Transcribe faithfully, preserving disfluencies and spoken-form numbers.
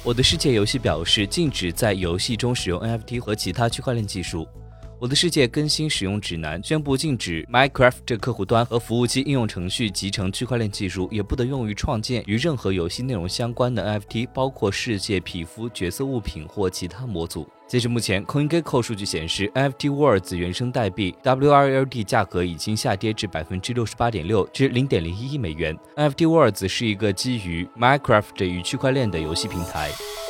我的世界游戏表示禁止在游戏中使用 N F T 和其他区块链技术。我的世界更新使用指南宣布禁止 Minecraft 客户端和服务器应用程序集成区块链技术，也不得用于创建与任何游戏内容相关的 N F T， 包括世界、皮肤、角色物品或其他模组。截至目前 CoinGecko 数据显示 N F T Worlds 原生代币 W R L D 价格已经下跌至 百分之六十八点六 至 零点零一亿美元。 N F T Worlds 是一个基于 Minecraft 与区块链的游戏平台。